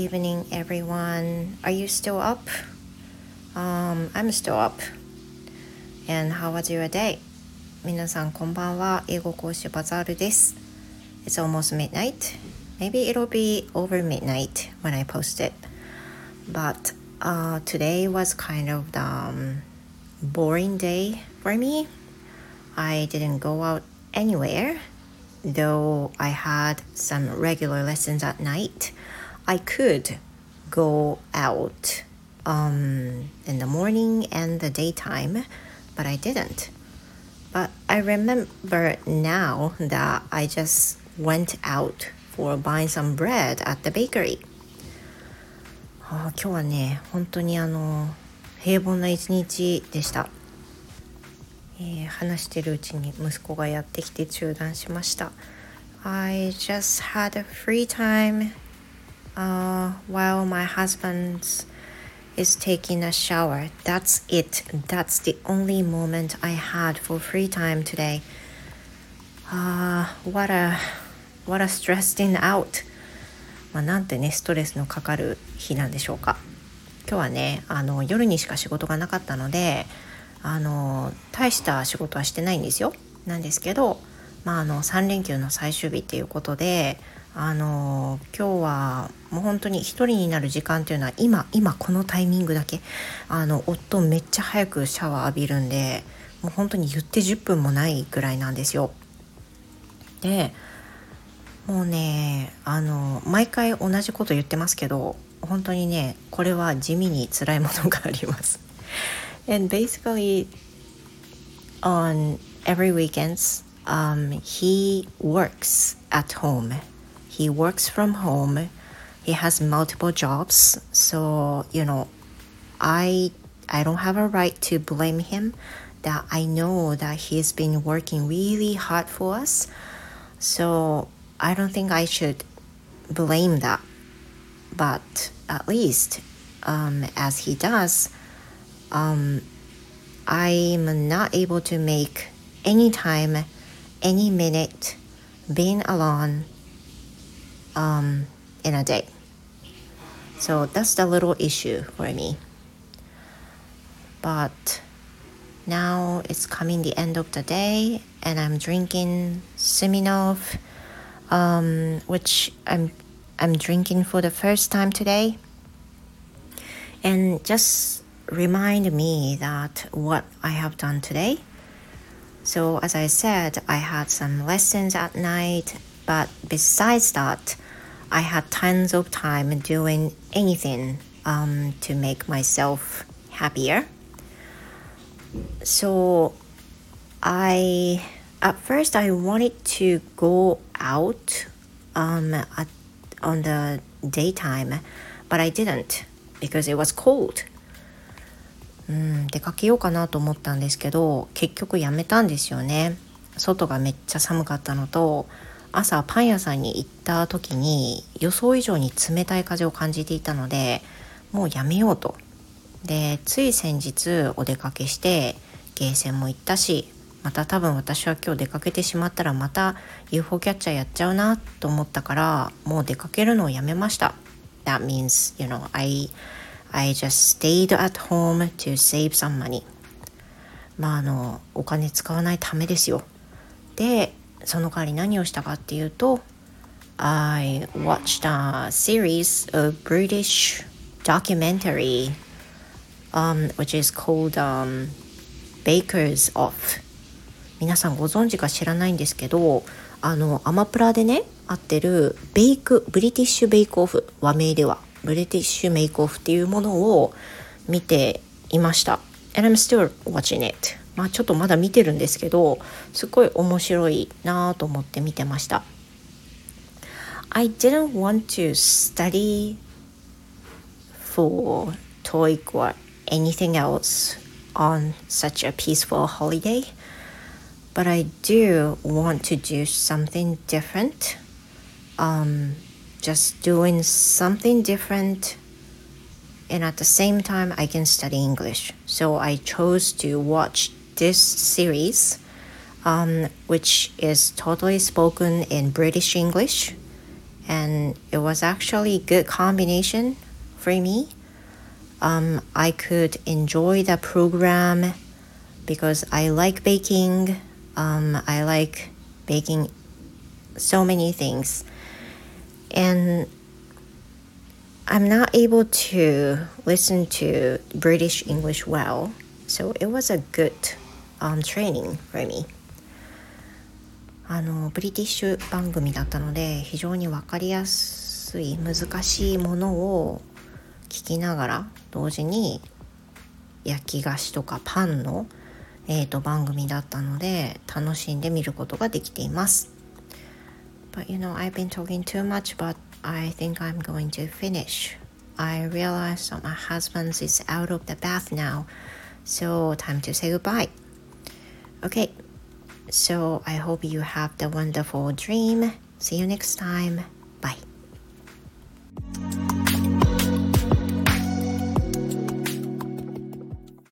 evening, everyone. Are you still up? I'm still up. And how was your day? 皆さんこんばんは。英語講師バザールです。It's almost midnight. Maybe it'll be over midnight when I post it. But today was kind of the boring day for me. I didn't go out anywhere, though I had some regular lessons at night. I could go out in the morning and the daytime, but I didn't. But I remember now that I just went out for buying some bread at the bakery. 今日はね、本当に平凡な一日でした。話してるうちに息子がやってきて中断しました。I just had a free time、while my husband is taking a shower. That's it. That's the only moment I had for free time today. What a stressing out. なんてね、ストレスのかかる日なんでしょうか。今日はね、夜にしか仕事がなかったので、大した仕事はしてないんですよ。なんですけど、3連休の最終日っていうことで、今日はもう本当に一人になる時間っていうのは今このタイミングだけ、夫めっちゃ早くシャワー浴びるんで、もう本当に言って10分もないぐらいなんですよ。で、もうね、毎回同じこと言ってますけど、本当にね、これは地味に辛いものがあります。And basically, on every weekends, he works at home. He works from home. He has multiple jobs. So, I don't have a right to blame him. That I know that he's been working really hard for us. So, I don't think I should blame that. But at least, as he does,I'm not able to make any time, any minute being alone in a day. So that's the little issue for me. But now it's coming the end of the day and I'm drinking Smirnoff, which I'm drinking for the first time today. And just remind me that what I have done today. So as I said, I had some lessons at night, but besides that, I had tons of time doing anything to make myself happier. So at first I wanted to go out on the daytime, but I didn't because it was cold.出かけようかなと思ったんですけど、結局やめたんですよね。外がめっちゃ寒かったのと、朝パン屋さんに行った時に予想以上に冷たい風を感じていたので、もうやめようと。で、つい先日お出かけしてゲーセンも行ったし、また多分私は今日出かけてしまったらまた UFO キャッチャーやっちゃうなと思ったから、もう出かけるのをやめました。That means, I just stayed at home to save some money. お金使わないためですよ。で、その代わり何をしたかっていうと、I watched a series of British documentary, which is called, Baker's Off. 皆さんご存知か知らないんですけど、アマプラでね、合ってるブリティッシュベイクオフ、和名ではブリティッシュメイクオフっていうものを見ていました。And I'm still watching it. ちょっとまだ見てるんですけど、すごい面白いなと思って見てました。I didn't want to study for TOEIC or anything else on such a peaceful holiday, but I do want to do something different. Just doing something different, and at the same time I can study English. So I chose to watch this series, which is totally spoken in British English, and it was actually a good combination for me. I could enjoy the program because I like baking. I like baking so many things, and I'm not able to listen to British English well, so it was a good training for me. ブリティッシュ番組だったので非常に分かりやすい難しいものを聞きながら同時に焼き菓子とかパンの、番組だったので楽しんで見ることができています。But I've been talking too much, but I think I'm going to finish. I realize that my husband is out of the bath now, so time to say goodbye. Okay, so I hope you have the wonderful dream. See you next time. Bye.